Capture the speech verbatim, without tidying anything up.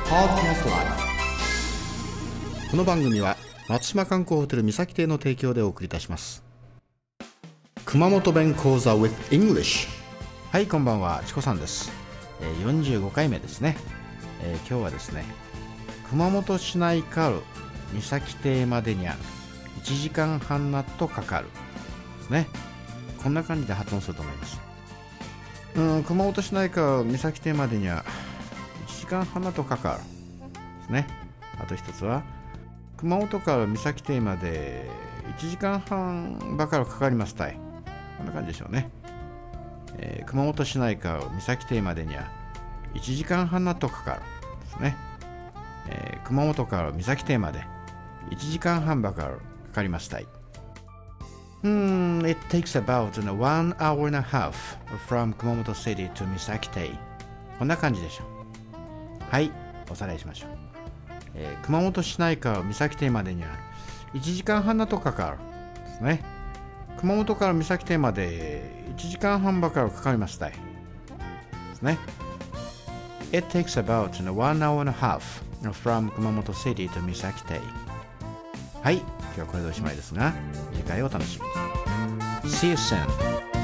Podcast Live。 この番組は松島観光ホテル三崎邸の提供でお送りいたします。熊本弁講座 with English。 はい、こんばんは、チコさんです。えー、よんじゅうごかいめですね。えー、今日はですね、熊本市内から三崎邸までにはいちじかんはんなとかかるですね。こんな感じで発音すると思います。うん、熊本市内から三崎邸までにはいちじかんはんなとかかるですね。あと一つは熊本から三崎邸までいちじかんはんばかりかかりますたい。こんな感じでしょうね。えー、熊本市内から三崎邸までにはいちじかんはんなとかかるですね。えー、熊本から三崎邸までいちじかんはんばかりかかりますたい。Hmm, it takes about one hour and a half from 熊本 City to 三崎邸。こんな感じでしょう。はい、おさらいしましょう。えー、熊本市内から三崎邸までにはいちじかんはんなとかかるですね。熊本から三崎邸までいちじかんはんばかりかかりますたいですね。It takes about one hour and a half from 熊本 City to 三崎邸。はい、今日はこれでおしまいですが、次回をお楽しみに。See you soon.